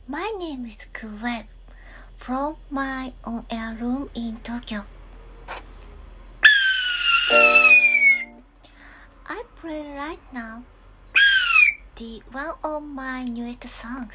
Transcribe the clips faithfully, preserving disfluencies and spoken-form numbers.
My name is Kuweb from my on-air room in Tokyo. I play right now the one of my newest songs.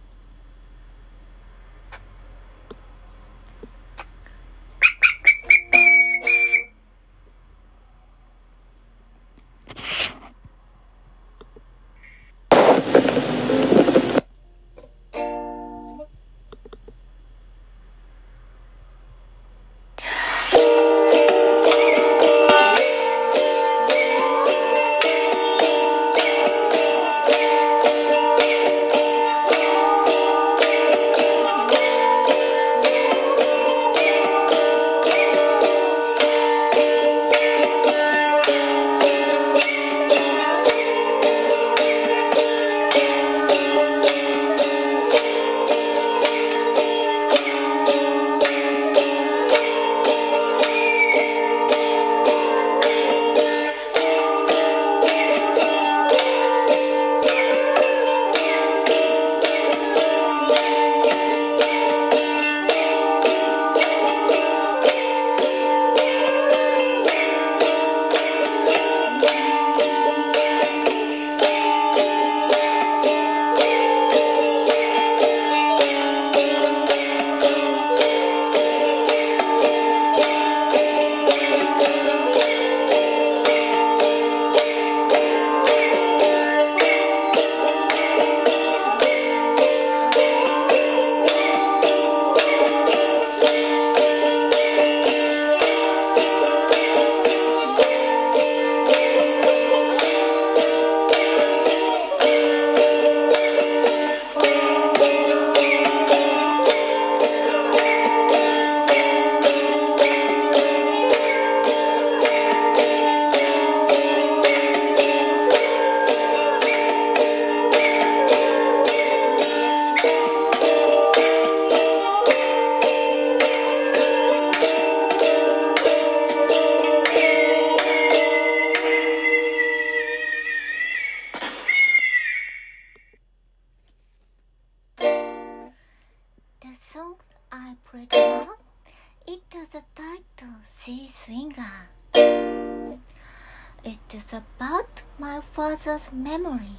The song I played now, it is the title Sea Swinger. It is about my father's memory.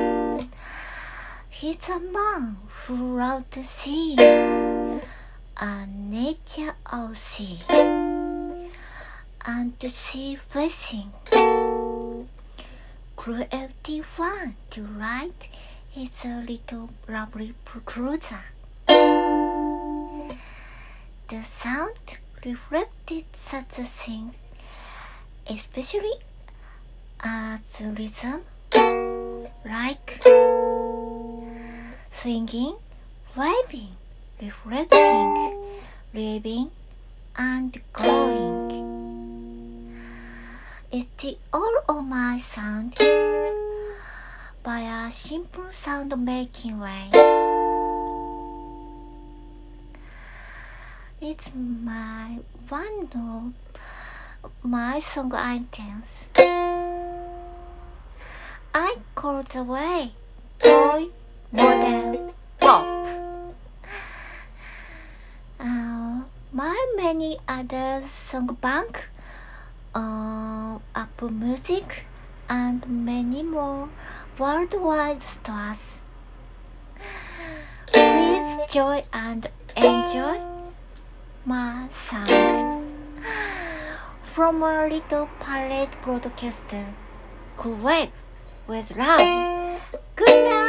He's a man who loved the sea and nature of sea and the sea racing. Cruelty one to ride his little lovely cruiser. The sound reflected such a thing, especially as rhythm, like swinging, waving, reflecting, living, and glowing. It's the all of my sound by a simple sound making way. It's my one of my song items. I call the way toy, modern, pop. Uh, my many other song bank on uh, Apple Music and many more worldwide stores. Please join and enjoy my sound from a little pirate broadcaster, Kuweb with love. Good night.